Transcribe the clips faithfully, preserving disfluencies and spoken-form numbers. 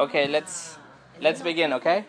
Okay, let's let's begin, okay?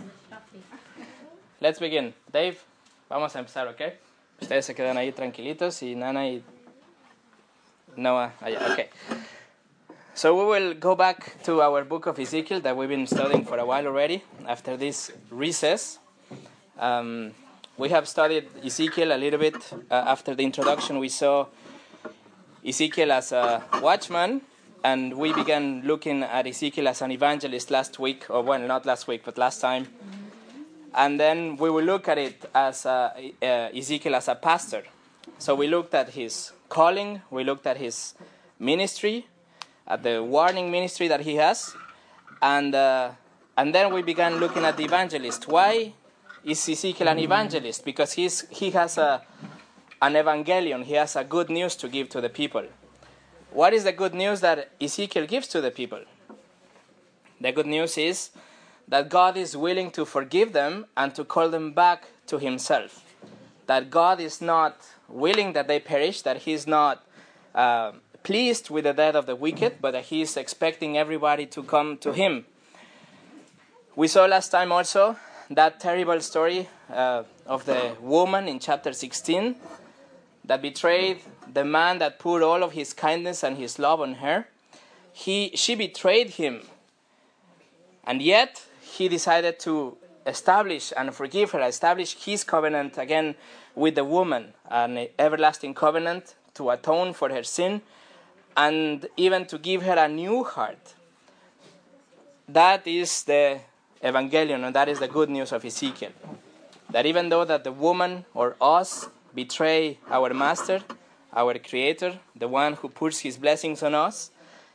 Let's begin. Dave, vamos a empezar, okay? Ustedes se quedan ahí tranquilitos y Nana y Noah allá, okay. So we will go back to our book of Ezekiel that we've been studying for a while already after this recess. Um, we have studied Ezekiel a little bit. Uh, after the introduction, we saw Ezekiel as a watchman, and we began looking at Ezekiel as an evangelist last week, or well, not last week, but last time. And then we will look at it as a, uh, Ezekiel as a pastor. So we looked at his calling, we looked at his ministry, at the warning ministry that he has, and uh, and then we began looking at the evangelist. Why is Ezekiel an evangelist? Because he's he has a an evangelion. He has a good news to give to the people. What is the good news that Ezekiel gives to the people? The good news is that God is willing to forgive them and to call them back to himself. That God is not willing that they perish, that he's not uh, pleased with the death of the wicked, but that he is expecting everybody to come to him. We saw last time also that terrible story uh, of the woman in chapter sixteen that betrayed the man that poured all of his kindness and his love on her. He, she betrayed him, and yet he decided to establish and forgive her, establish his covenant again with the woman, an everlasting covenant to atone for her sin, and even to give her a new heart. That is the evangelion, and that is the good news of Ezekiel. That even though that the woman or us betray our master, our creator, the one who pours his blessings on us,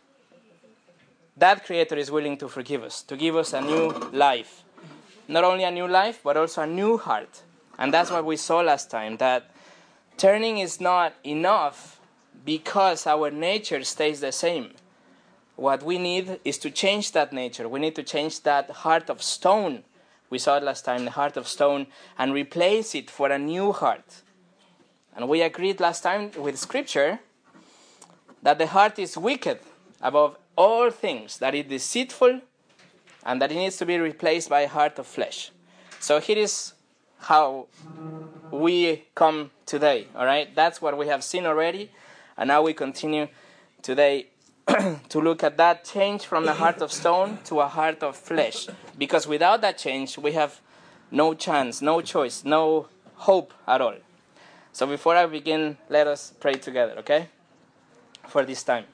that creator is willing to forgive us, to give us a new life. Not only a new life, but also a new heart. And that's what we saw last time, that turning is not enough because our nature stays the same. What we need is to change that nature. We need to change that heart of stone. We saw it last time, the heart of stone, and replace it for a new heart. And we agreed last time with Scripture that the heart is wicked above all things, that it is deceitful, and that it needs to be replaced by a heart of flesh. So here is how we come today, all right? That's what we have seen already, and now we continue today to look at that change from the heart of stone to a heart of flesh. Because without that change, we have no chance, no choice, no hope at all. So before I begin, let us pray together, okay? For this time.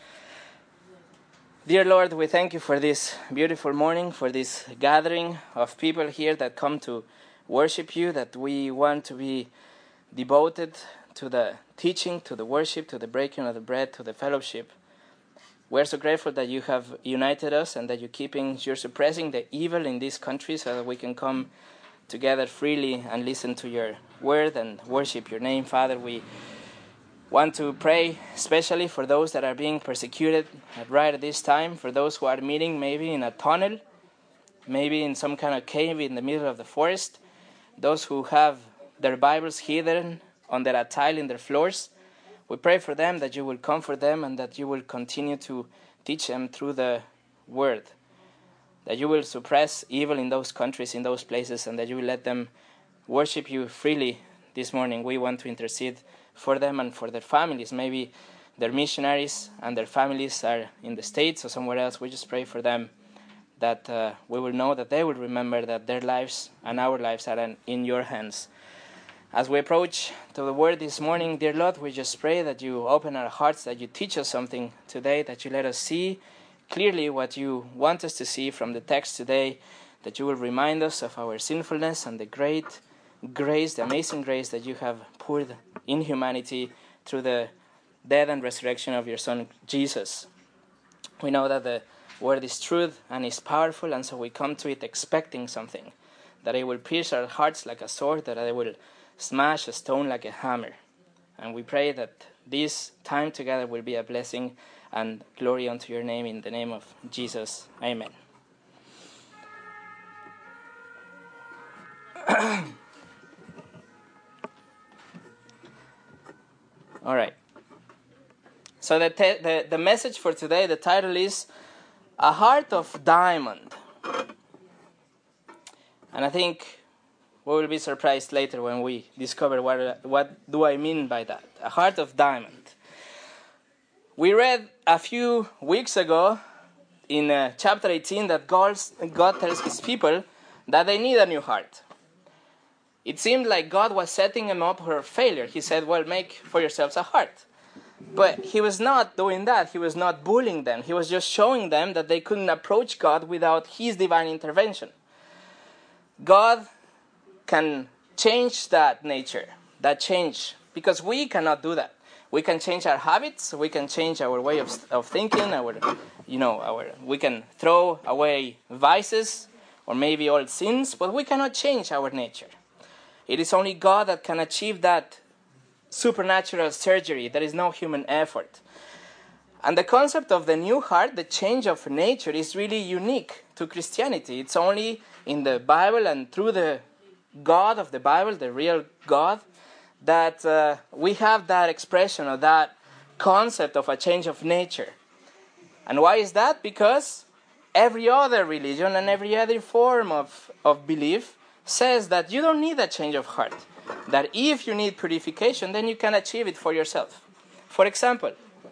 Dear Lord, we thank you for this beautiful morning, for this gathering of people here that come to worship you, that we want to be devoted to the teaching, to the worship, to the breaking of the bread, to the fellowship. We're so grateful that you have united us and that you're keeping, you're suppressing the evil in this country so that we can come together freely and listen to your word and worship your name. Father, we want to pray especially for those that are being persecuted right at this time, for those who are meeting maybe in a tunnel, maybe in some kind of cave in the middle of the forest, those who have their Bibles hidden on their tile in their floors. We pray for them that you will comfort them and that you will continue to teach them through the word, that you will suppress evil in those countries, in those places, and that you will let them worship you freely this morning. We want to intercede for them and for their families. Maybe their missionaries and their families are in the States or somewhere else. We just pray for them that uh, we will know that they will remember that their lives and our lives are in, in your hands. As we approach to the word this morning, dear Lord, we just pray that you open our hearts, that you teach us something today, that you let us see clearly what you want us to see from the text today, that you will remind us of our sinfulness and the great grace, the amazing grace that you have poured in humanity through the death and resurrection of your Son, Jesus. We know that the word is truth and is powerful, and so we come to it expecting something, that it will pierce our hearts like a sword, that it will smash a stone like a hammer. And we pray that this time together will be a blessing and glory unto your name, in the name of Jesus. Amen. All right. So the, te- the the message for today, the title is A heart of diamond. And I think we will be surprised later when we discover what, what do I mean by that. A heart of diamond. We read a few weeks ago in uh, chapter eighteen that God, God tells his people that they need a new heart. It seemed like God was setting them up for failure. He said, well, make for yourselves a heart. But he was not doing that. He was not bullying them. He was just showing them that they couldn't approach God without his divine intervention. God can change that nature, that change, because we cannot do that. We can change our habits. We can change our way of, of thinking. Our, you know, our we can throw away vices or maybe old sins, but we cannot change our nature. It is only God that can achieve that supernatural surgery. There is no human effort. And the concept of the new heart, the change of nature, is really unique to Christianity. It's only in the Bible and through the God of the Bible, the real God, that uh, we have that expression or that concept of a change of nature. And why is that? Because every other religion and every other form of, of belief says that you don't need a change of heart. That if you need purification, then you can achieve it for yourself. For example,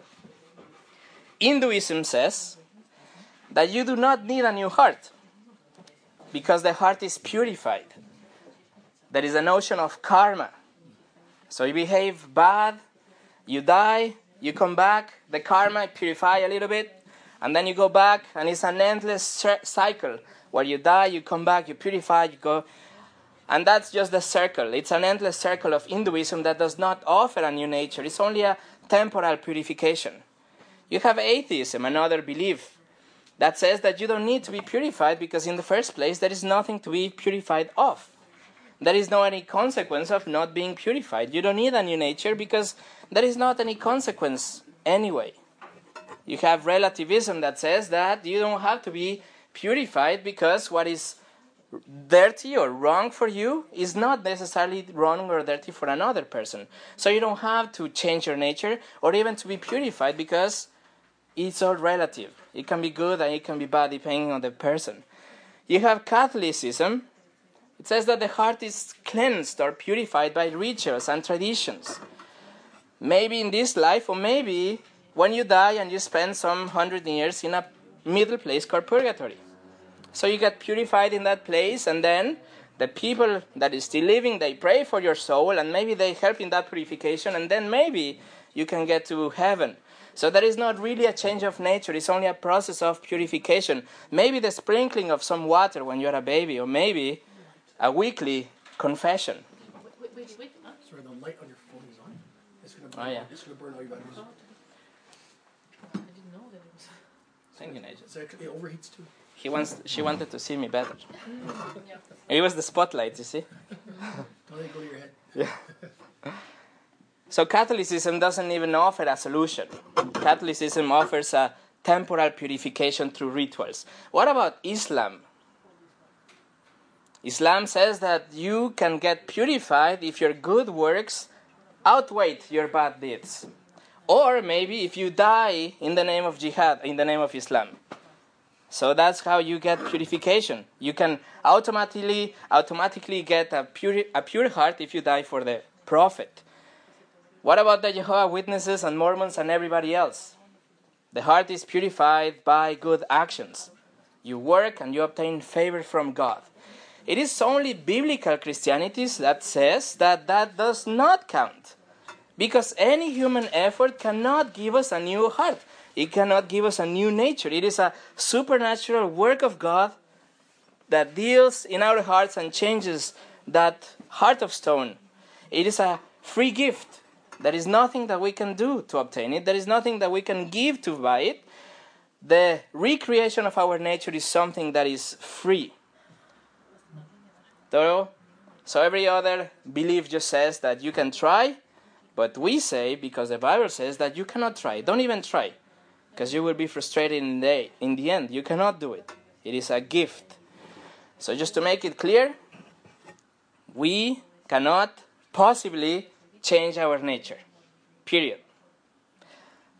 Hinduism says that you do not need a new heart because the heart is purified. There is a notion of karma. So you behave bad, you die, you come back, the karma purify a little bit, and then you go back, and it's an endless cycle where you die, you come back, you purify, you go. And that's just the circle. It's an endless circle of Hinduism that does not offer a new nature. It's only a temporal purification. You have atheism, another belief, that says that you don't need to be purified because in the first place there is nothing to be purified of. There is no any consequence of not being purified. You don't need a new nature because there is not any consequence anyway. You have relativism that says that you don't have to be purified because what is dirty or wrong for you is not necessarily wrong or dirty for another person. So you don't have to change your nature or even to be purified because it's all relative. It can be good and it can be bad depending on the person. You have Catholicism. It says that the heart is cleansed or purified by rituals and traditions. Maybe in this life, or maybe when you die and you spend some hundred years in a middle place called purgatory. So you get purified in that place, and then the people that is still living, they pray for your soul, and maybe they help in that purification, and then maybe you can get to heaven. So there is not really a change of nature. It's only a process of purification. Maybe the sprinkling of some water when you're a baby, or maybe a weekly confession. Wait, wait, wait. Huh? Sorry, the light on your phone is on. It's going to burn, Oh, yeah. it's going to burn all your batteries. I didn't know that it was. Thank you, Nigel. So it overheats too. He wants, she wanted to see me better. Yeah. It was the spotlight, you see. Don't let it go to your head. Yeah. So Catholicism doesn't even offer a solution. Catholicism offers a temporal purification through rituals. What about Islam? Islam says that you can get purified if your good works outweigh your bad deeds. Or maybe if you die in the name of jihad, in the name of Islam. So that's how you get purification. You can automatically automatically get a pure, a pure heart if you die for the Prophet. What about the Jehovah's Witnesses and Mormons and everybody else? The heart is purified by good actions. You work and you obtain favor from God. It is only biblical Christianity that says that that does not count. Because any human effort cannot give us a new heart. It cannot give us a new nature. It is a supernatural work of God that deals in our hearts and changes that heart of stone. It is a free gift. There is nothing that we can do to obtain it. There is nothing that we can give to buy it. The recreation of our nature is something that is free. So, so every other belief just says that you can try, but we say, because the Bible says that you cannot try. Don't even try. Because you will be frustrated in the, in the end. You cannot do it. It is a gift. So just to make it clear, we cannot possibly change our nature. Period.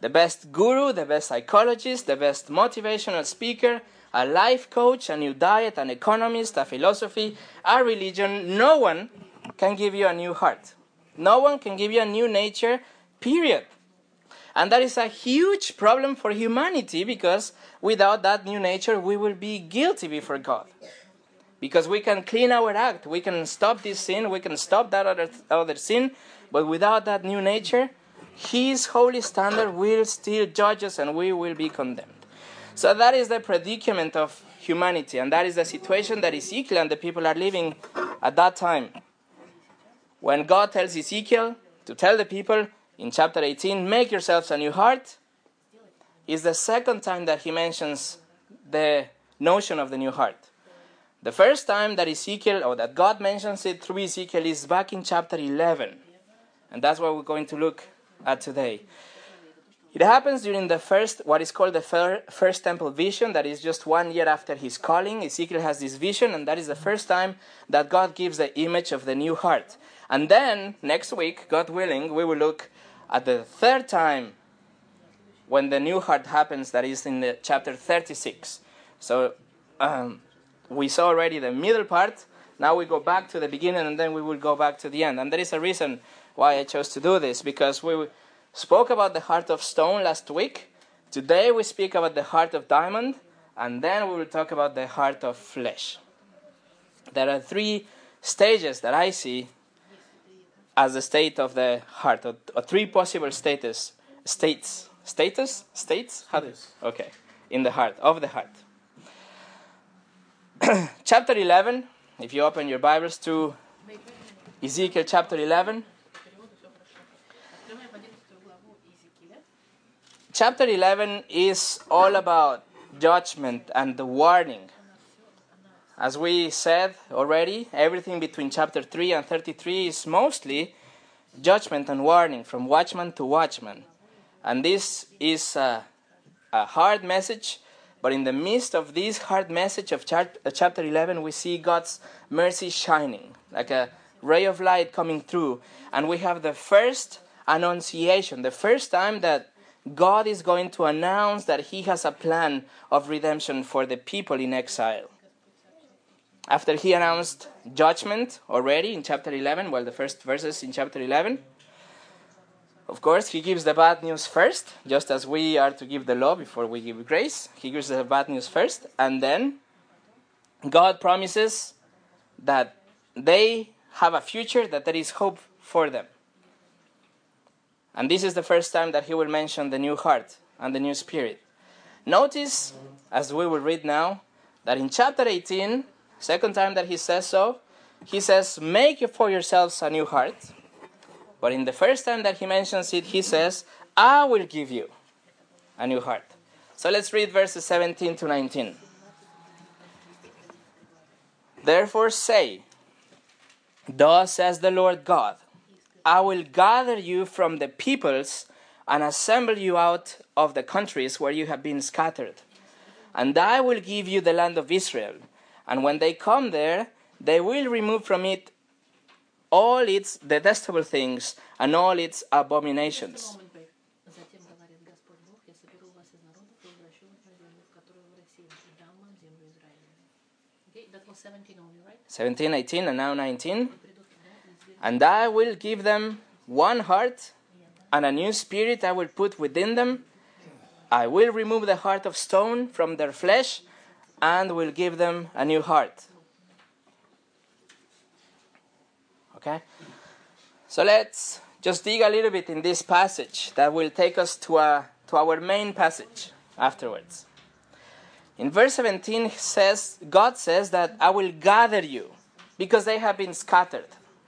the best guru, the best psychologist, the best motivational speaker, a life coach, a new diet, an economist, a philosophy, a religion. No one can give you a new heart. No one can give you a new nature, period. And that is a huge problem for humanity, because without that new nature, we will be guilty before God. Because we can clean our act, we can stop this sin, we can stop that other, other sin, but without that new nature, His holy standard will still judge us and we will be condemned. So that is the predicament of humanity, and that is the situation that Ezekiel and the people are living at that time. When God tells Ezekiel to tell the people in chapter eighteen, make yourselves a new heart, is the second time that he mentions the notion of the new heart. The first time that Ezekiel, or that God mentions it through Ezekiel, is back in chapter eleven. And that's what we're going to look at today. It happens during the first, what is called the first temple vision, that is just one year after his calling. Ezekiel has this vision, and that is the first time that God gives the image of the new heart. And then, next week, God willing, we will look at the third time when the new heart happens, that is in the chapter thirty-six. So, um, we saw already the middle part. Now we go back to the beginning, and then we will go back to the end. And there is a reason why I chose to do this, because we spoke about the heart of stone last week. Today we speak about the heart of diamond, and then we will talk about the heart of flesh. There are three stages that I see as the state of the heart, or, or three possible status, states, status, states, how does, okay, in the heart, of the heart. Chapter eleven, if you open your Bibles to Ezekiel chapter eleven. Chapter eleven is all about judgment and the warning. As we said already, everything between chapter three and thirty-three is mostly judgment and warning, from watchman to watchman. And this is a, a hard message, but in the midst of this hard message of chap- chapter eleven, we see God's mercy shining, like a ray of light coming through. And we have the first annunciation, the first time that God is going to announce that He has a plan of redemption for the people in exile. After He announced judgment already in chapter eleven, well, the first verses in chapter eleven, of course, He gives the bad news first, just as we are to give the law before we give grace. He gives the bad news first, and then God promises that they have a future, that there is hope for them. And this is the first time that He will mention the new heart and the new spirit. Notice, as we will read now, that in chapter eighteen, second time that He says so, He says, make for yourselves a new heart. But in the first time that He mentions it, He says, I will give you a new heart. So let's read verses seventeen to nineteen. Therefore say, thus says the Lord God, I will gather you from the peoples and assemble you out of the countries where you have been scattered. And I will give you the land of Israel. And when they come there, they will remove from it all its detestable things and all its abominations. Okay, that was seventeen only, right? seventeen, eighteen, and now nineteen. And I will give them one heart, and a new spirit I will put within them. I will remove the heart of stone from their flesh, and will give them a new heart. Okay? So let's just dig a little bit in this passage that will take us to, a, to our main passage afterwards. In verse seventeen, says, God says that I will gather you because they have been scattered.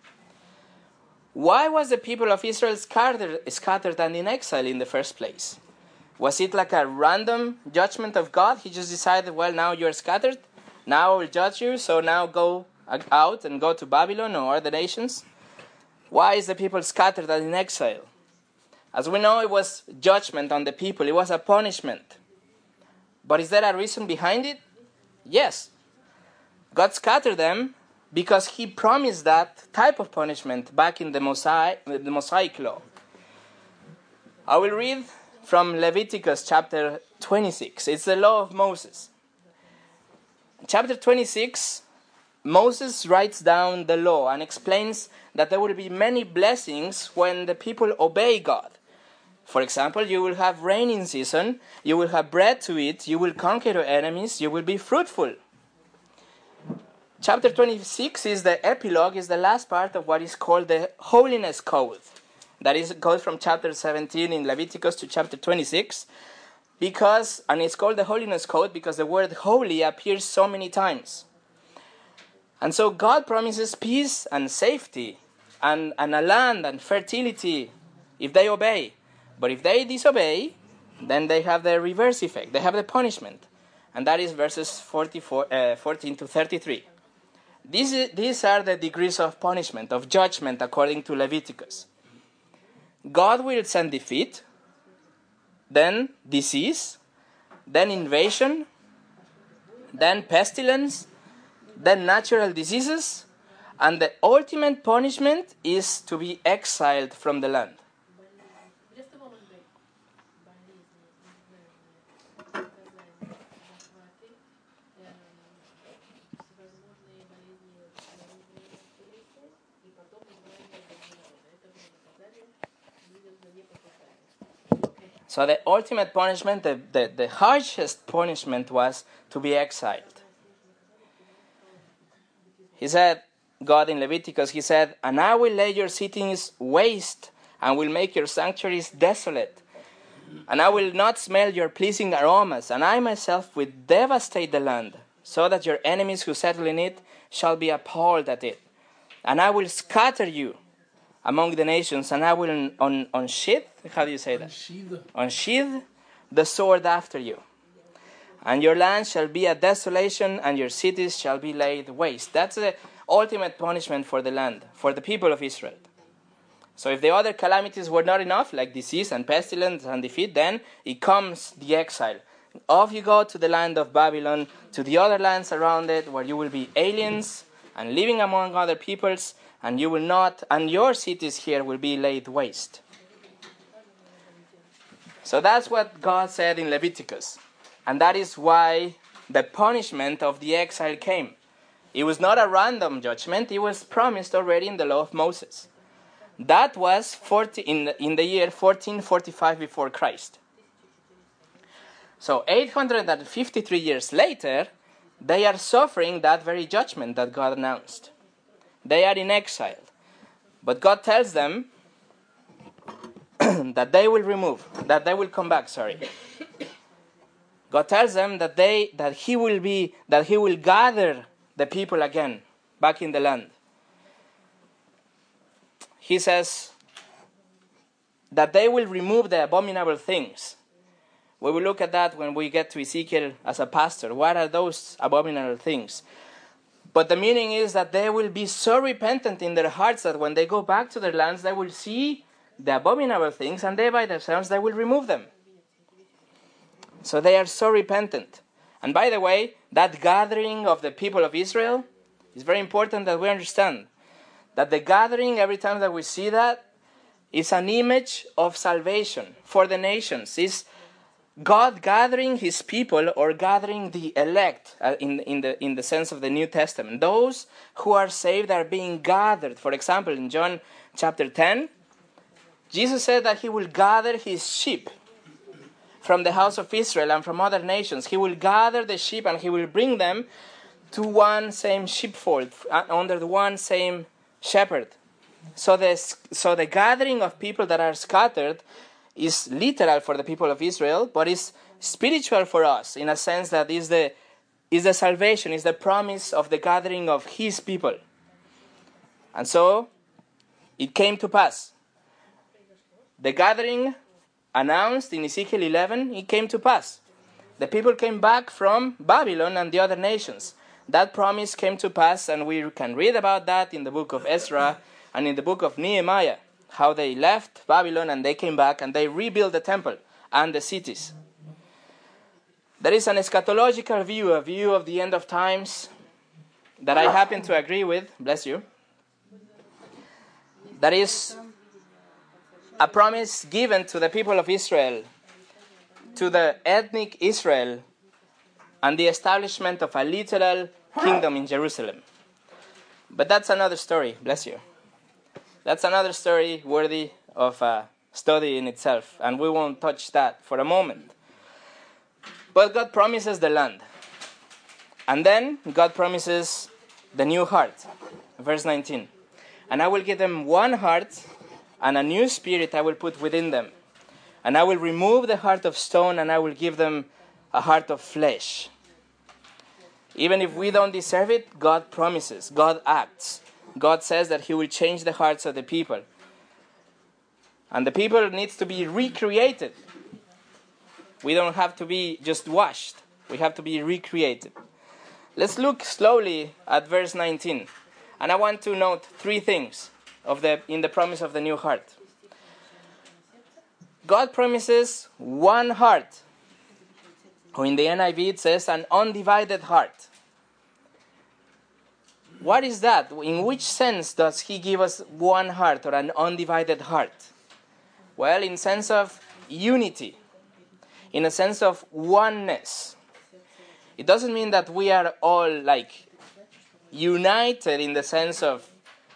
Why was the people of Israel scattered, scattered and in exile in the first place? Was it like a random judgment of God? He just decided, well, now you're scattered. Now I will judge you, so now go out and go to Babylon or other nations. Why is the people scattered and in exile? As we know, it was judgment on the people. It was a punishment. But is there a reason behind it? Yes. God scattered them because He promised that type of punishment back in the Mosaic, the Mosaic law. I will read from Leviticus chapter twenty-six. It's the law of Moses. Chapter twenty-six, Moses writes down the law and explains that there will be many blessings when the people obey God. For example, you will have rain in season, you will have bread to eat, you will conquer your enemies, you will be fruitful. Chapter twenty-six is the epilogue, is the last part of what is called the Holiness Code. That is, it goes from chapter seventeen in Leviticus to chapter twenty-six, because, and it's called the Holiness Code because the word holy appears so many times. And so God promises peace and safety and, and a land and fertility if they obey. But if they disobey, then they have the reverse effect. They have the punishment. And that is verses forty-four, uh, fourteen to thirty-three. These, these are the degrees of punishment, of judgment, according to Leviticus. God will send defeat, then disease, then invasion, then pestilence, then natural diseases, and the ultimate punishment is to be exiled from the land. So the ultimate punishment, the, the, the harshest punishment was to be exiled. He said, God in Leviticus, he said, "And I will lay your cities waste, and will make your sanctuaries desolate. And I will not smell your pleasing aromas, and I myself will devastate the land, so that your enemies who settle in it shall be appalled at it. And I will scatter you among the nations, and I will on, unsheath," how do you say that? Unsheathe. Unsheath the sword after you. And your land shall be a desolation, and your cities shall be laid waste. That's the ultimate punishment for the land, for the people of Israel. So if the other calamities were not enough, like disease and pestilence and defeat, then it comes the exile. Off you go to the land of Babylon, to the other lands around it, where you will be aliens and living among other peoples, and you will not, and your cities here will be laid waste. So that's what God said in Leviticus. And that is why the punishment of the exile came. It was not a random judgment, it was promised already in the law of Moses. That was forty, in, the, in the year fourteen forty-five before Christ. So eight hundred fifty-three years later, they are suffering that very judgment that God announced. They are in exile. But God tells them that they will remove, that they will come back, sorry. God tells them that they that he will be that he will gather the people again back in the land. He says that they will remove the abominable things. We will look at that when we get to Ezekiel as a pastor. What are those abominable things? But the meaning is that they will be so repentant in their hearts that when they go back to their lands, they will see the abominable things, and they by themselves, they will remove them. So they are so repentant. And by the way, that gathering of the people of Israel is very important that we understand. That the gathering, every time that we see that, is an image of salvation for the nations. It's God gathering his people, or gathering the elect uh, in, in, the, in the sense of the New Testament. Those who are saved are being gathered. For example, in John chapter ten, Jesus said that he will gather his sheep from the house of Israel and from other nations. He will gather the sheep and he will bring them to one same sheepfold, under the one same shepherd. So the, so the gathering of people that are scattered is literal for the people of Israel, but is spiritual for us, in a sense that is the, is the salvation, is the promise of the gathering of his people. And so it came to pass. The gathering announced in Ezekiel eleven, it came to pass. The people came back from Babylon and the other nations. That promise came to pass, and we can read about that in the book of Ezra and in the book of Nehemiah, how they left Babylon and they came back and they rebuilt the temple and the cities. There is an eschatological view, a view of the end of times, that I happen to agree with, bless you. That is a promise given to the people of Israel to the ethnic Israel and the establishment of a literal kingdom in Jerusalem. But that's another story, bless you. That's another story worthy of a study in itself, and we won't touch that for a moment. But God promises the land. And then God promises the new heart. Verse nineteen. And I will give them one heart, and a new spirit I will put within them. And I will remove the heart of stone, and I will give them a heart of flesh. Even if we don't deserve it, God promises, God acts. God says that he will change the hearts of the people. And the people needs to be recreated. We don't have to be just washed. We have to be recreated. Let's look slowly at verse nineteen. And I want to note three things of the in the promise of the new heart. God promises one heart. Or in the N I V it says an undivided heart. What is that? In which sense does he give us one heart or an undivided heart? Well, in sense of unity. In a sense of oneness. It doesn't mean that we are all like united in the sense of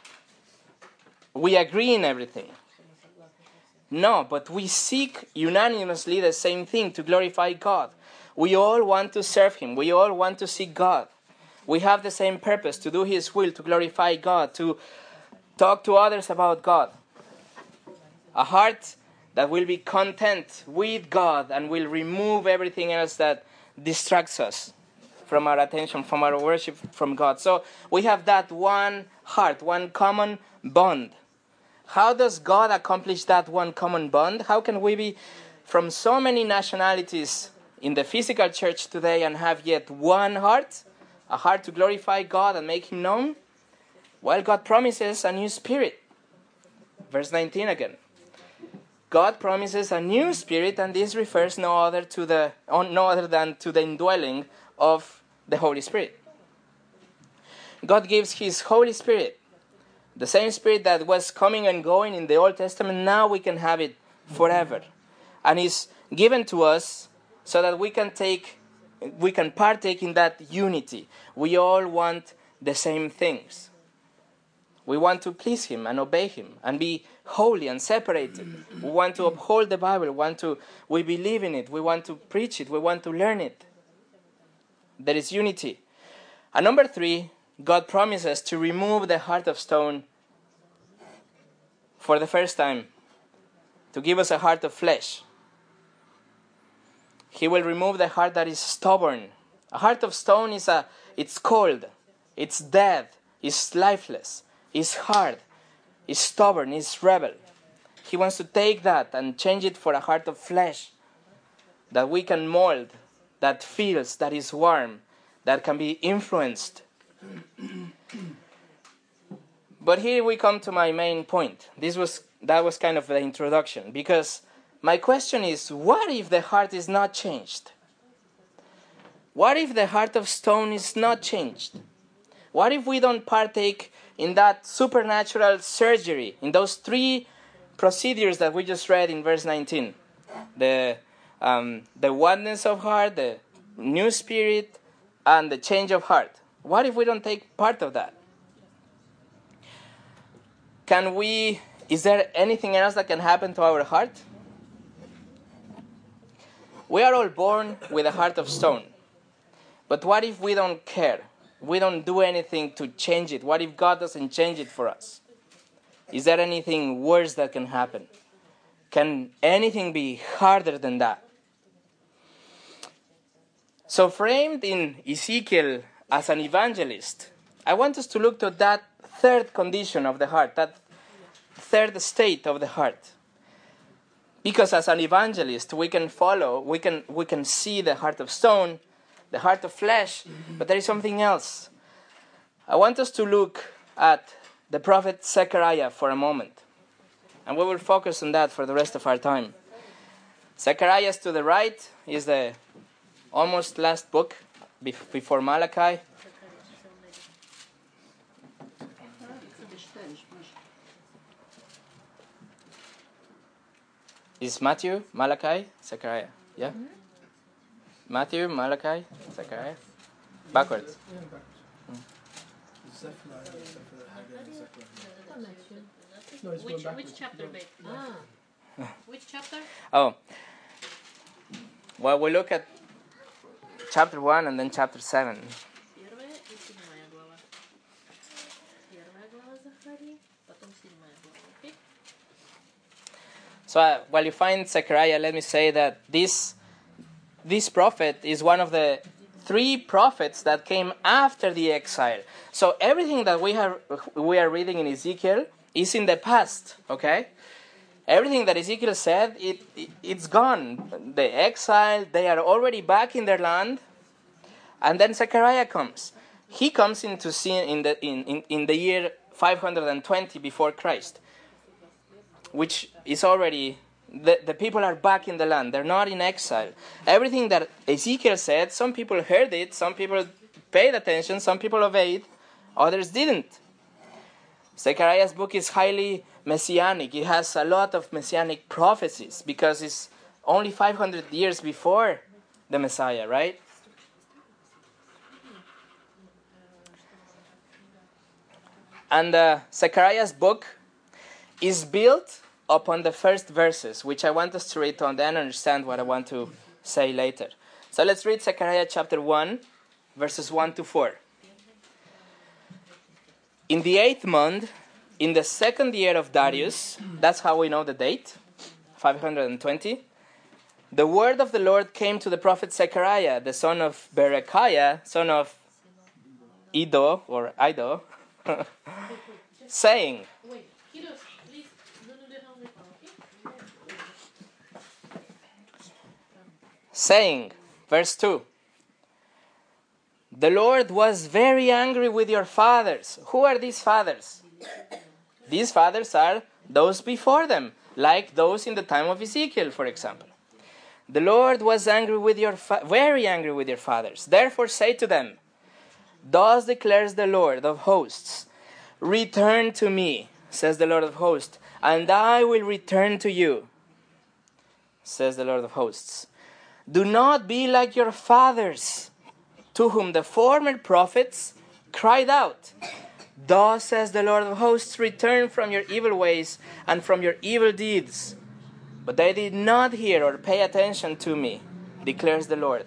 we agree in everything. No, but we seek unanimously the same thing, to glorify God. We all want to serve him. We all want to seek God. We have the same purpose, to do his will, to glorify God, to talk to others about God. A heart that will be content with God and will remove everything else that distracts us from our attention, from our worship from God. So we have that one heart, one common bond. How does God accomplish that one common bond? How can we be from so many nationalities in the physical church today and have yet one heart? A heart to glorify God and make him known? Well, God promises a new spirit. Verse nineteen again. God promises a new spirit, and this refers no other to the no other than to the indwelling of the Holy Spirit. God gives his Holy Spirit. The same Spirit that was coming and going in the Old Testament, now we can have it forever. And is given to us so that we can take, we can partake in that unity. We all want the same things. We want to please him and obey him and be holy and separated. We want to uphold the Bible. We want to, we believe in it. We want to preach it. We want to learn it. There is unity. And number three, God promises to remove the heart of stone for the first time, to give us a heart of flesh. He will remove the heart that is stubborn. A heart of stone is a, it's cold, it's dead, it's lifeless, it's hard, it's stubborn, it's rebel. He wants to take that and change it for a heart of flesh that we can mold, that feels, that is warm, that can be influenced. But here we come to my main point. This was that was kind of the introduction, because my question is, what if the heart is not changed? What if the heart of stone is not changed? What if we don't partake in that supernatural surgery, in those three procedures that we just read in verse nineteen? The um, the oneness of heart, the new spirit, and the change of heart. What if we don't take part of that? Can we, is there anything else that can happen to our heart? We are all born with a heart of stone. But what if we don't care? We don't do anything to change it. What if God doesn't change it for us? Is there anything worse that can happen? Can anything be harder than that? So framed in Ezekiel as an evangelist, I want us to look to that third condition of the heart, that third state of the heart. Because as an evangelist, we can follow, we can we can see the heart of stone, the heart of flesh, but there is something else. I want us to look at the prophet Zechariah for a moment. And we will focus on that for the rest of our time. Zechariah to the right is the almost last book before Malachi. Is Matthew, Malachi, Zechariah? Yeah. Matthew, Malachi, Zechariah. Backwards. Yeah, backwards. Zephaniah, Zephaniah, Haggai, and Zechariah. No, he's going Which, backwards. which chapter, babe? Ah, Which chapter? Oh. Well, we look at chapter one and then chapter seven. Первая и седьмая глава. Первая глава Захарии, потом седьмая глава, okay? So uh, while you find Zechariah, let me say that this this prophet is one of the three prophets that came after the exile. So everything that we have we are reading in Ezekiel is in the past, okay? Everything that Ezekiel said, it, it it's gone. The exile, they are already back in their land. And then Zechariah comes. He comes into scene in the in, in, in the year five hundred twenty before Christ, which is already, the, the people are back in the land. They're not in exile. Everything that Ezekiel said, some people heard it, some people paid attention, some people obeyed, others didn't. Zechariah's book is highly messianic. It has a lot of messianic prophecies because it's only five hundred years before the Messiah, right? And uh, Zechariah's book is built upon the first verses, which I want us to read to then understand what I want to say later. So let's read Zechariah chapter one, verses one to four. In the eighth month, in the second year of Darius, that's how we know the date, five hundred twenty, the word of the Lord came to the prophet Zechariah, the son of Berechiah, son of Iddo, or Iddo, saying, Wait, kiddos, please, don't do that on the phone, okay? saying, verse two, the Lord was very angry with your fathers. Who are these fathers? These fathers are those before them, like those in the time of Ezekiel, for example. The Lord was angry with your fa- very angry with your fathers. Therefore say to them, thus declares the Lord of hosts, return to me, says the Lord of hosts, and I will return to you, says the Lord of hosts. Do not be like your fathers, to whom the former prophets cried out. Thus says the Lord of hosts, return from your evil ways and from your evil deeds. But they did not hear or pay attention to me, declares the Lord.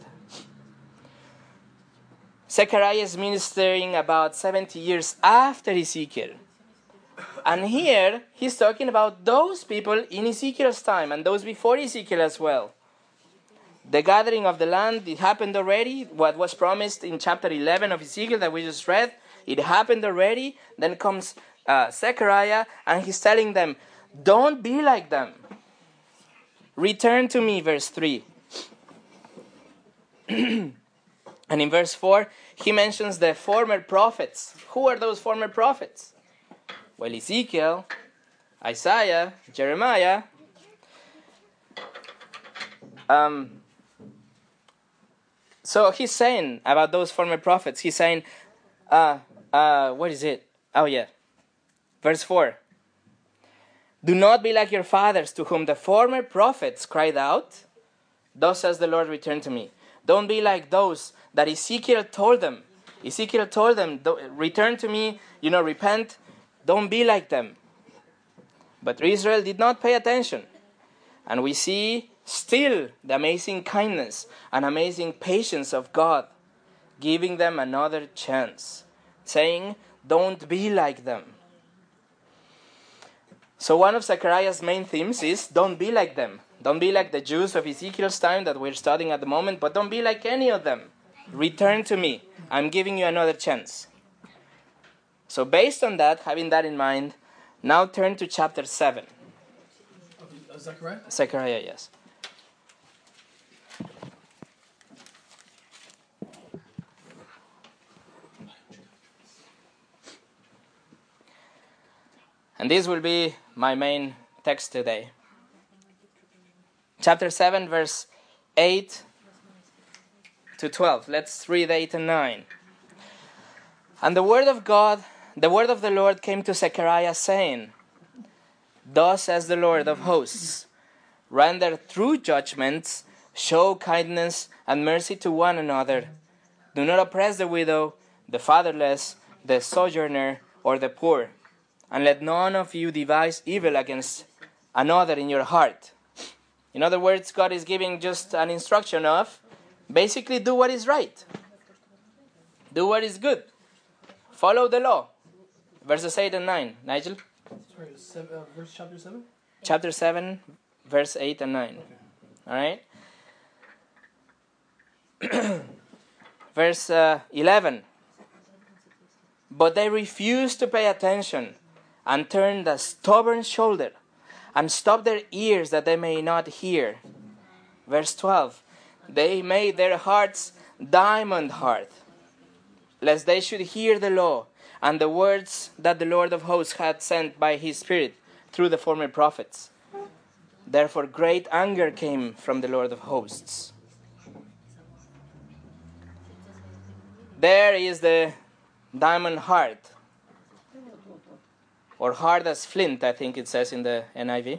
Zechariah is ministering about seventy years after Ezekiel. And here, he's talking about those people in Ezekiel's time and those before Ezekiel as well. The gathering of the land, it happened already. What was promised in chapter eleven of Ezekiel that we just read, it happened already. Then comes uh, Zechariah, and he's telling them, don't be like them. Return to me, verse three. And in verse four, he mentions the former prophets. Who are those former prophets? Well, Ezekiel, Isaiah, Jeremiah. Um, so he's saying about those former prophets, he's saying, uh, uh, what is it? Oh yeah, verse four. Do not be like your fathers, to whom the former prophets cried out. Thus says the Lord, return to me. Don't be like those that Ezekiel told them. Ezekiel told them, return to me, you know, repent. Don't be like them. But Israel did not pay attention. And we see still the amazing kindness and amazing patience of God, giving them another chance, saying, don't be like them. So one of Zechariah's main themes is, don't be like them. Don't be like the Jews of Ezekiel's time that we're studying at the moment, but don't be like any of them. Return to me. I'm giving you another chance. So based on that, having that in mind, now turn to chapter seven. Uh, Zechariah? Zechariah, yes. And this will be my main text today. Chapter seven, verse eight to twelve. Let's read eight and nine. And the word of God, the word of the Lord came to Zechariah, saying, thus says the Lord of hosts, render true judgments Show kindness and mercy to one another. Do not oppress the widow, the fatherless, the sojourner, or the poor. And let none of you devise evil against another in your heart. In other words, God is giving just an instruction of basically do what is right. Do what is good. Follow the law. Verses eight and nine. Nigel? Sorry, seven, uh, verse chapter seven? Chapter seven, verse eight and nine. Alright? Verse uh, eleven. But they refused to pay attention and turned a stubborn shoulder and stopped their ears that they may not hear. Verse twelve. They made their hearts diamond hard, lest they should hear the law and the words that the Lord of hosts had sent by his Spirit through the former prophets. Therefore great anger came from the Lord of hosts. There is the diamond hard, or hard as flint, I think it says in the N I V.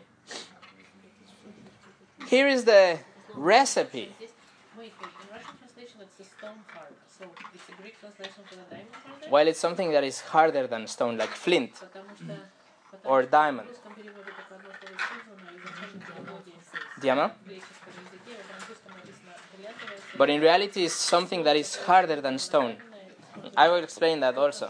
Here is the recipe. Wait, wait. In Russian translation, it's the stone hard. So it's a Greek translation for the diamond harder? Well, it's something that is harder than stone, like flint Потому что, потому or что diamond. в русском переводе только одно слово использовано, и в изначальном переводе Diamond? в греческом языке, в английском написано бриллиантовое. But in reality, it's something that is harder than stone. I will explain that also.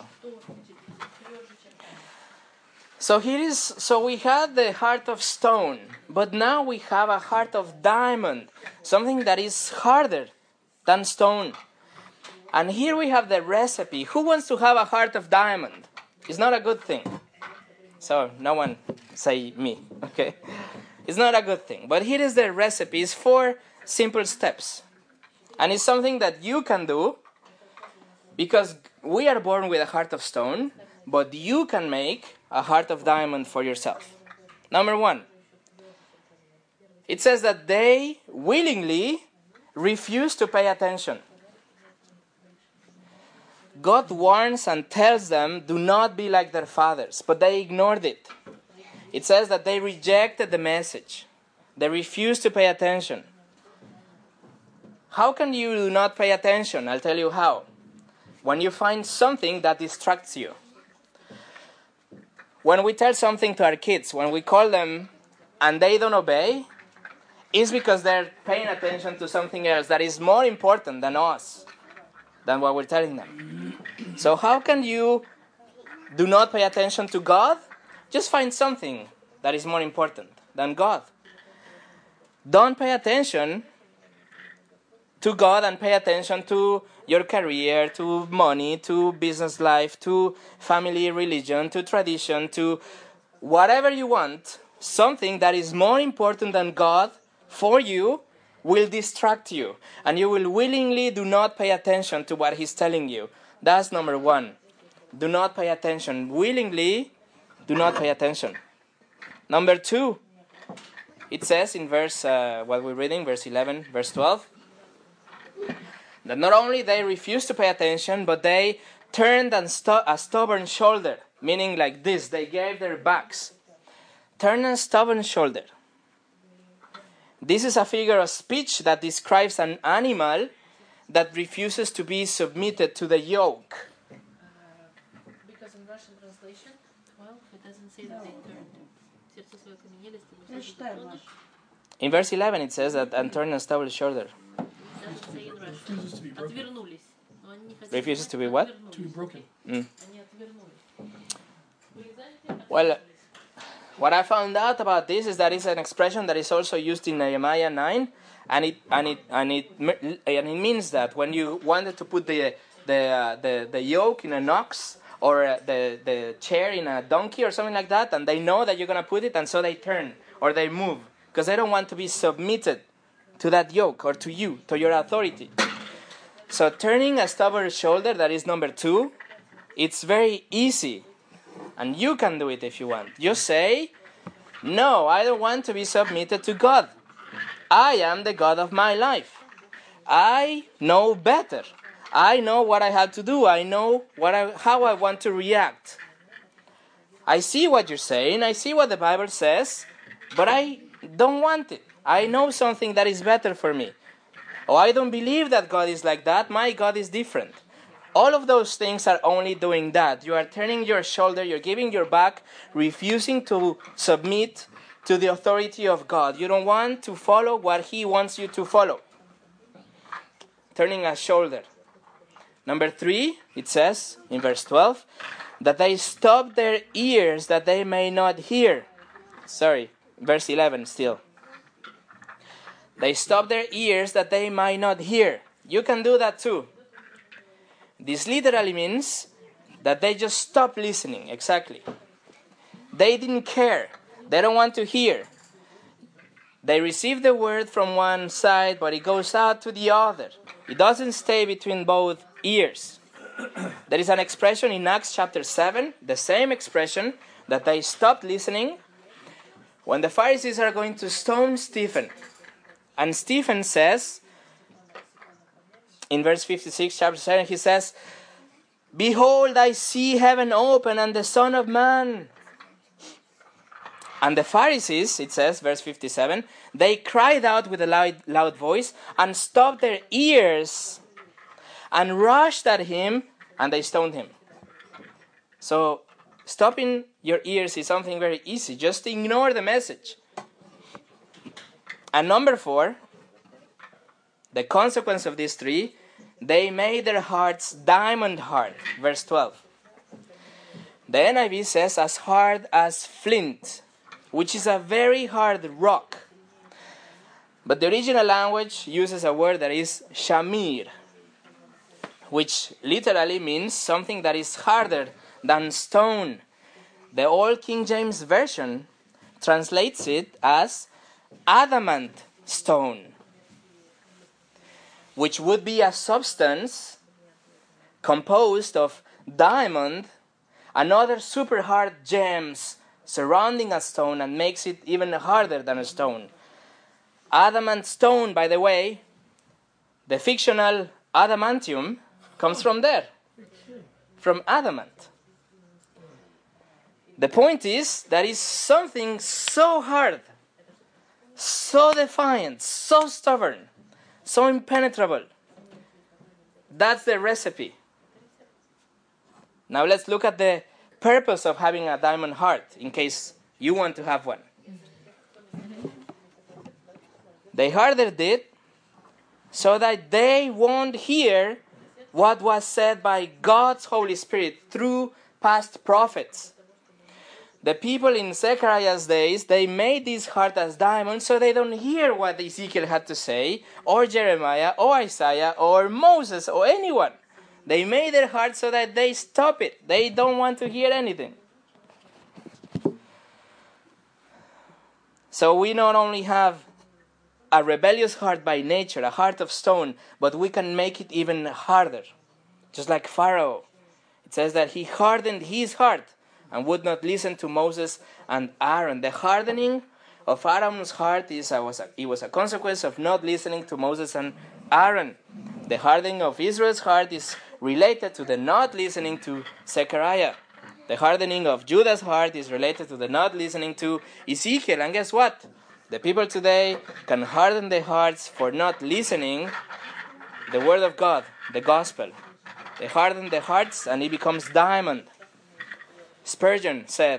So here is, so we had the heart of stone, but now we have a heart of diamond, something that is harder than stone. And here we have the recipe. Who wants to have a heart of diamond? It's not a good thing. So no one say me, okay? It's not a good thing. But here is the recipe. It's four simple steps. And it's something that you can do because we are born with a heart of stone, but you can make a heart of diamond for yourself. Number one, it says that they willingly refuse to pay attention. God warns and tells them, do not be like their fathers, but they ignored it. It says that they rejected the message. They refused to pay attention. How can you not pay attention? I'll tell you how. When you find something that distracts you. When we tell something to our kids, when we call them and they don't obey, it's because they're paying attention to something else that is more important than us, than what we're telling them. So how can you do not pay attention to God? Just find something that is more important than God. Don't pay attention to God and pay attention to your career, to money, to business life, to family, religion, to tradition, to whatever you want. Something that is more important than God for you will distract you, and you will willingly do not pay attention to what He's telling you. That's number one. Do not pay attention. Willingly do not pay attention. Number two, it says in verse, uh, what we're reading, verse eleven, verse twelve, that not only they refused to pay attention, but they turned and stu- a stubborn shoulder, meaning like this, they gave their backs. Turn a stubborn shoulder. This is a figure of speech that describes an animal that refuses to be submitted to the yoke. Uh, because in Russian translation, twelve, it doesn't say that they turned. Сердце свое окаменели, Я читаю ваш. In verse eleven it says that, and turn a stubborn shoulder. It doesn't say in Russian. Refuses to be broken. Отвернулись. Но они не хотят. Refuses to be what? To be broken. Mm. Они отвернулись. Вы знаете, Well, отвернулись. what I found out about this is that it's an expression that is also used in Nehemiah nine, and it and it and it and it means that when you wanted to put the the uh, the, the yoke in an ox or uh, the the chair in a donkey or something like that, and they know that you're gonna put it, and so they turn or they move because they don't want to be submitted to that yoke or to you, to your authority. So turning a stubborn shoulder, that is number two, it's very easy. And you can do it if you want. You say, no, I don't want to be submitted to God. I am the God of my life. I know better. I know what I have to do. I know what I, how I want to react. I see what you're saying. I see what the Bible says. But I don't want it. I know something that is better for me. Oh, I don't believe that God is like that. My God is different. All of those things are only doing that. You are turning your shoulder, you're giving your back, refusing to submit to the authority of God. You don't want to follow what He wants you to follow. Turning a shoulder. Number three, it says in verse twelve, that they stop their ears that they may not hear. Sorry, verse eleven still. They stop their ears that they might not hear. You can do that too. This literally means that they just stop listening, exactly. They didn't care. They don't want to hear. They receive the word from one side, but it goes out to the other. It doesn't stay between both ears. There is an expression in Acts chapter seven, the same expression, that they stopped listening when the Pharisees are going to stone Stephen. And Stephen says, in verse fifty-six, chapter seven, he says, "Behold, I see heaven open and the Son of Man." And the Pharisees, it says, verse fifty-seven, they cried out with a loud, loud voice and stopped their ears and rushed at him and they stoned him. So, stopping your ears is something very easy. Just ignore the message. And number four, the consequence of these three, they made their hearts diamond hard. Verse twelve. The N I V says, as hard as flint, which is a very hard rock. But the original language uses a word that is shamir, which literally means something that is harder than stone. The Old King James Version translates it as adamant stone, which would be a substance composed of diamond and other super hard gems surrounding a stone and makes it even harder than a stone. Adamant stone, by the way, the fictional adamantium comes from there, from adamant. The point is that it's something so hard, so defiant, so stubborn, so impenetrable. That's the recipe. Now let's look at the purpose of having a diamond heart, in case you want to have one. They hardened it so that they won't hear what was said by God's Holy Spirit through past prophets. The people in Zechariah's days, they made this heart as diamonds so they don't hear what Ezekiel had to say, or Jeremiah, or Isaiah, or Moses, or anyone. They made their heart so that they stop it. They don't want to hear anything. So we not only have a rebellious heart by nature, a heart of stone, but we can make it even harder. Just like Pharaoh. It says that he hardened his heart and would not listen to Moses and Aaron. The hardening of Aaron's heart is a, was a, it was a consequence of not listening to Moses and Aaron. The hardening of Israel's heart is related to the not listening to Zechariah. The hardening of Judah's heart is related to the not listening to Ezekiel. And guess what? The people today can harden their hearts for not listening the word of God, the gospel. They harden their hearts and it becomes diamond. Spurgeon said,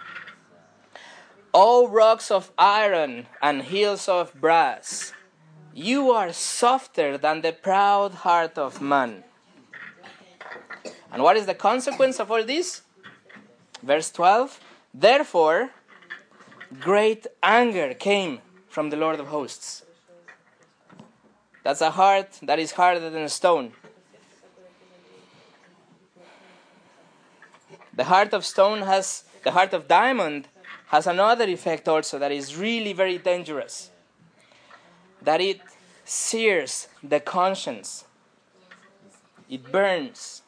"O rocks of iron and hills of brass, you are softer than the proud heart of man." And what is the consequence of all this? Verse twelve, "Therefore, great anger came from the Lord of hosts." That's a heart that is harder than a stone. The heart of stone has, the heart of diamond has another effect also that is really very dangerous. That it sears the conscience. It burns.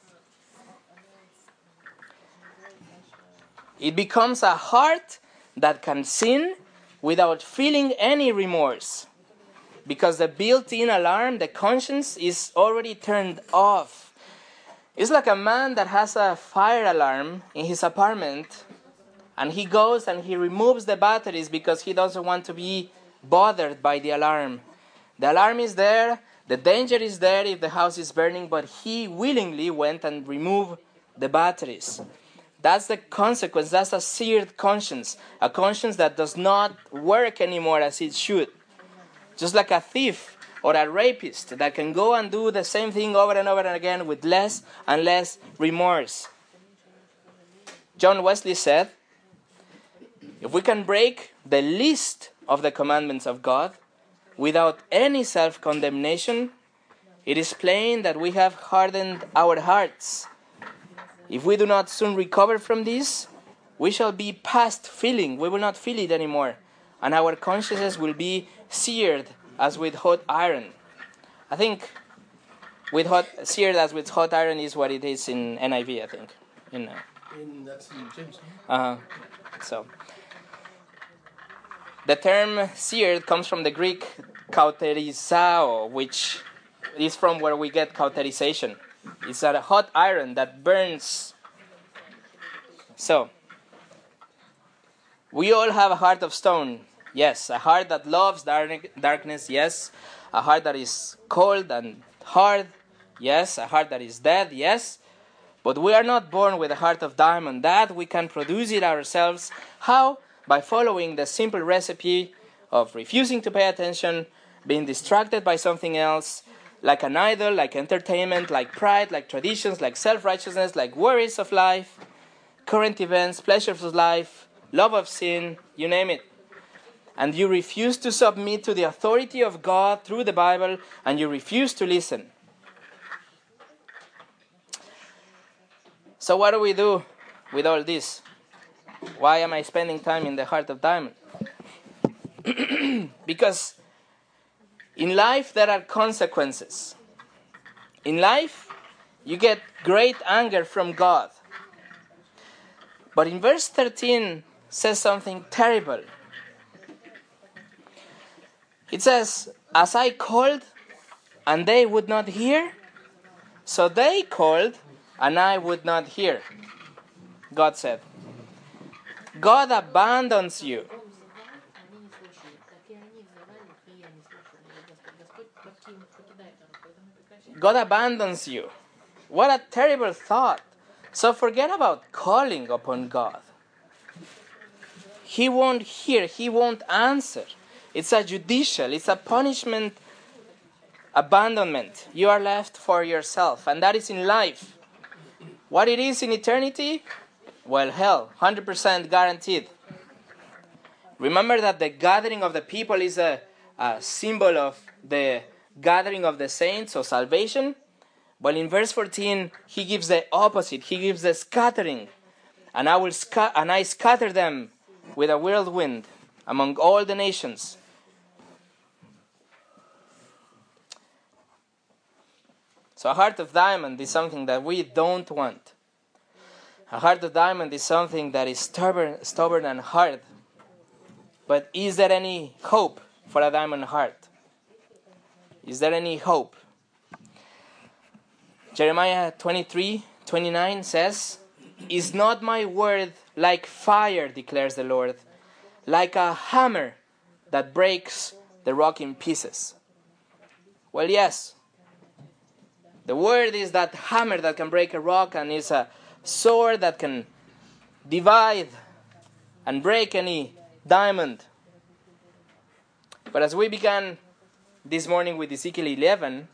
It becomes a heart that can sin without feeling any remorse. Because the built-in alarm, the conscience, is already turned off. It's like a man that has a fire alarm in his apartment and he goes and he removes the batteries because he doesn't want to be bothered by the alarm. The alarm is there, the danger is there if the house is burning, but he willingly went and removed the batteries. That's the consequence. That's a seared conscience, a conscience that does not work anymore as it should. Just like a thief or a rapist that can go and do the same thing over and over and again with less and less remorse. John Wesley said, if we can break the least of the commandments of God without any self-condemnation, it is plain that we have hardened our hearts. If we do not soon recover from this, we shall be past feeling. We will not feel it anymore. And our consciences will be seared as with hot iron. I think with hot, seared as with hot iron is what it is in N I V, I think. In, uh, In, that's in James. uh-huh. So, the term seared comes from the Greek kauterizao, which is from where we get cauterization. It's a hot iron that burns. So, we all have a heart of stone. Yes, a heart that loves dark, darkness. Yes, a heart that is cold and hard. Yes, a heart that is dead. Yes, but we are not born with a heart of diamond. That we can produce it ourselves. How? By following the simple recipe of refusing to pay attention, being distracted by something else, like an idol, like entertainment, like pride, like traditions, like self-righteousness, like worries of life, current events, pleasures of life, love of sin, you name it. And you refuse to submit to the authority of God through the Bible, and you refuse to listen. So what do we do with all this? Why am I spending time in the heart of diamond? Because in life there are consequences. In life you get great anger from God. But in verse thirteen says something terrible. It says, as I called and they would not hear, so they called and I would not hear. God said, God abandons you. God abandons you. What a terrible thought. So forget about calling upon God. He won't hear. He won't answer. It's a judicial, it's a punishment abandonment. You are left for yourself. And that is in life. What it is in eternity? Well, hell, one hundred percent guaranteed. Remember that the gathering of the people is a, a symbol of the gathering of the saints or salvation. Well, in verse fourteen, he gives the opposite. He gives the scattering. And I will sca- and I scatter them with a whirlwind among all the nations. So a heart of diamond is something that we don't want. A heart of diamond is something that is stubborn, stubborn and hard. But is there any hope for a diamond heart? Is there any hope? Jeremiah twenty-three twenty-nine says, is not my word like fire, declares the Lord, like a hammer that breaks the rock in pieces? Well, yes. The word is that hammer that can break a rock, and is a sword that can divide and break any diamond. But as we began this morning with Ezekiel eleven,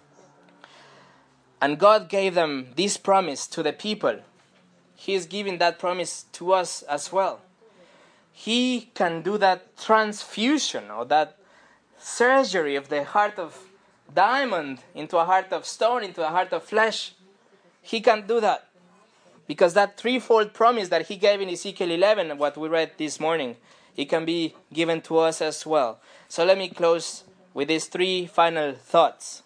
and God gave them this promise to the people, He is giving that promise to us as well. He can do that transfusion or that surgery of the heart of diamond into a heart of stone, into a heart of flesh. He can do that. Because that threefold promise that He gave in Ezekiel eleven, what we read this morning, it can be given to us as well. So let me close with these three final thoughts.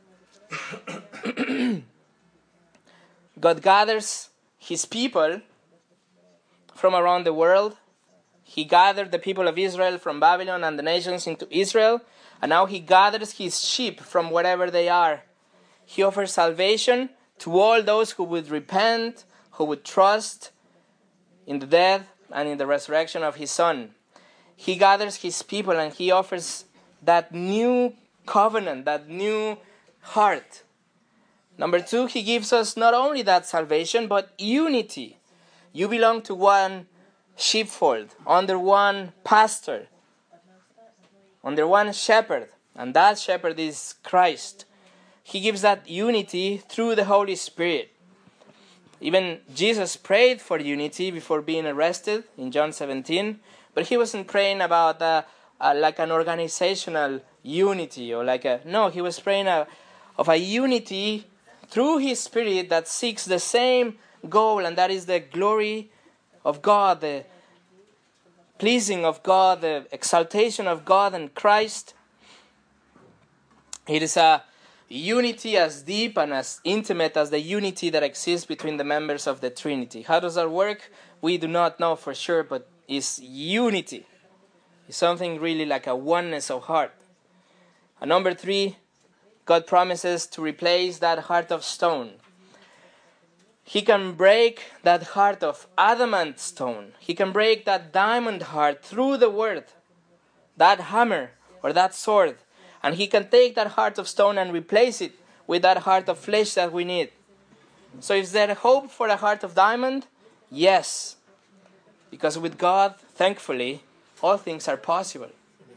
God gathers His people from around the world. He gathered the people of Israel from Babylon and the nations into Israel. And now He gathers His sheep from wherever they are. He offers salvation to all those who would repent, who would trust in the death and in the resurrection of His Son. He gathers his people and he offers that new covenant, that new heart. Number two, he gives us not only that salvation, but unity. You belong to one sheepfold, under one pastor, under one shepherd, and that shepherd is Christ. He gives that unity through the Holy Spirit. Even Jesus prayed for unity before being arrested in John seventeen, but he wasn't praying about uh, uh, like an organizational unity or like a no. He was praying uh, of a unity through His Spirit that seeks the same goal, and that is the glory of God, the pleasing of God, the exaltation of God and Christ. It is a unity as deep and as intimate as the unity that exists between the members of the Trinity. How does that work? We do not know for sure, but it's unity. It's something really like a oneness of heart. And number three, God promises to replace that heart of stone. He can break that heart of adamant stone. He can break that diamond heart through the word, that hammer or that sword. And He can take that heart of stone and replace it with that heart of flesh that we need. So is there hope for a heart of diamond? Yes. Because with God, thankfully, all things are possible.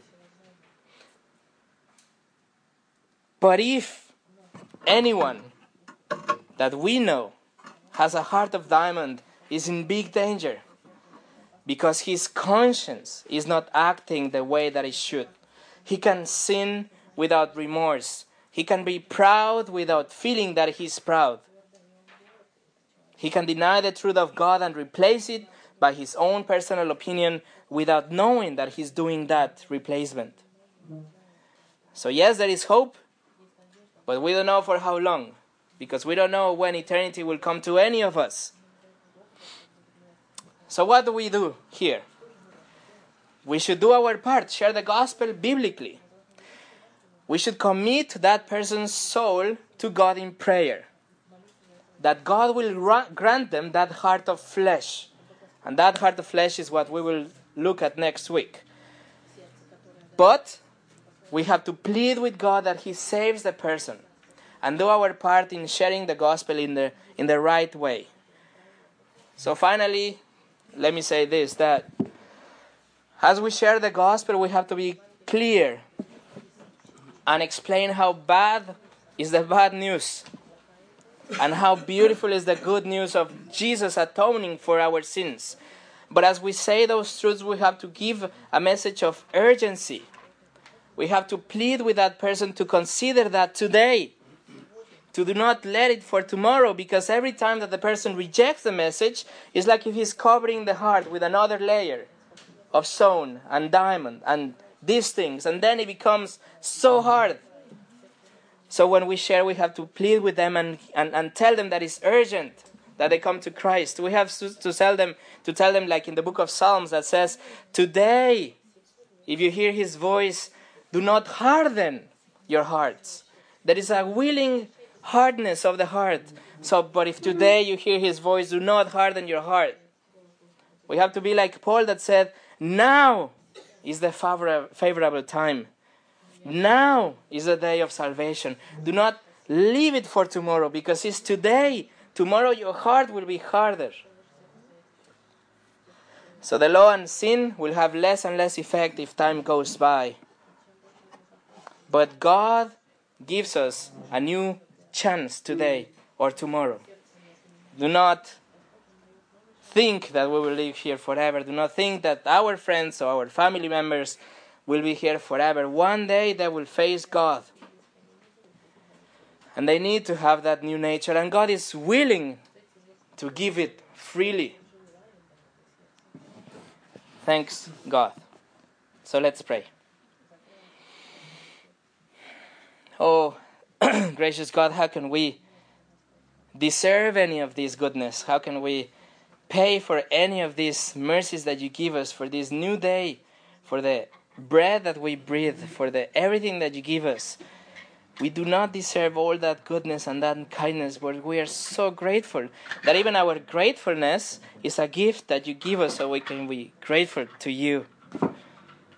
But if anyone that we know has a heart of diamond is in big danger because his conscience is not acting the way that it should. He can sin without remorse. He can be proud without feeling that he's proud. He can deny the truth of God and replace it by his own personal opinion without knowing that he's doing that replacement. So yes, there is hope, but we don't know for how long, because we don't know when eternity will come to any of us. So what do we do here? We should do our part, share the gospel biblically. We should commit that person's soul to God in prayer, that God will grant them that heart of flesh. And that heart of flesh is what we will look at next week. But we have to plead with God that He saves the person and do our part in sharing the gospel in the, in the right way. So finally, let me say this, that as we share the gospel, we have to be clear and explain how bad is the bad news and how beautiful is the good news of Jesus atoning for our sins. But as we say those truths, we have to give a message of urgency. We have to plead with that person to consider that today, to do not let it for tomorrow, because every time that the person rejects the message, it's like if he's covering the heart with another layer of stone and diamond and these things, and then it becomes so hard. So when we share, we have to plead with them and, and, and tell them that it's urgent that they come to Christ. We have to, to tell them, to tell them like in the book of Psalms that says, today, if you hear His voice, do not harden your hearts. There is a willing hardness of the heart. So, but if today you hear His voice, do not harden your heart. We have to be like Paul that said, now is the favor- favorable time. Now is the day of salvation. Do not leave it for tomorrow, because it's today. Tomorrow your heart will be harder. So the law and sin will have less and less effect if time goes by. But God gives us a new chance today or tomorrow. Do not think that we will live here forever. Do not think that our friends or our family members will be here forever. One day they will face God. And they need to have that new nature. And God is willing to give it freely. Thanks God. So let's pray. Oh, gracious God, how can we deserve any of this goodness? How can we pay for any of these mercies that you give us, for this new day, for the breath that we breathe, for the everything that you give us? We do not deserve all that goodness and that kindness, but we are so grateful that even our gratefulness is a gift that you give us, so we can be grateful to you.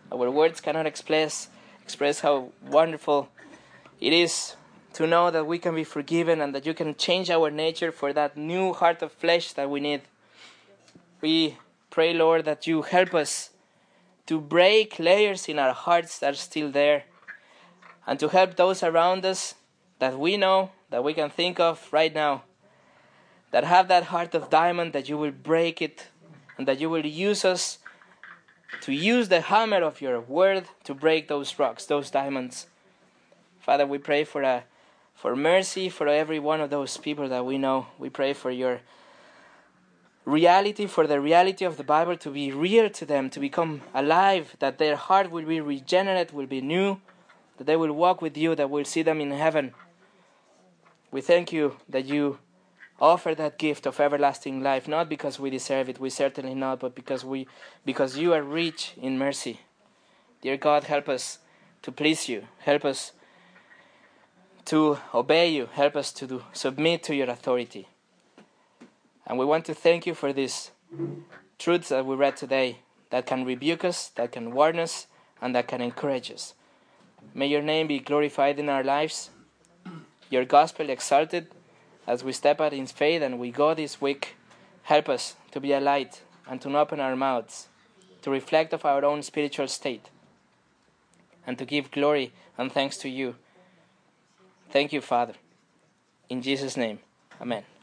Our words cannot express express how wonderful it is to know that we can be forgiven and that you can change our nature for that new heart of flesh that we need. We pray, Lord, that you help us to break layers in our hearts that are still there, and to help those around us that we know, that we can think of right now, that have that heart of diamond, that you will break it, and that you will use us to use the hammer of your word to break those rocks, those diamonds. Father, we pray for a, for mercy for every one of those people that we know. We pray for your reality, for the reality of the Bible to be real to them, to become alive, that their heart will be regenerate, will be new, that they will walk with you, that we'll see them in heaven. We thank you that you offer that gift of everlasting life, not because we deserve it, we certainly not, but because we, because you are rich in mercy. Dear God, help us to please you. Help us to obey you. Help us to do, submit to your authority. And we want to thank you for these truths that we read today, that can rebuke us, that can warn us, and that can encourage us. May your name be glorified in our lives, your gospel exalted, as we step out in faith and we go this week. Help us to be a light and to open our mouths, to reflect of our own spiritual state, and to give glory and thanks to you. Thank you, Father. In Jesus' name, amen.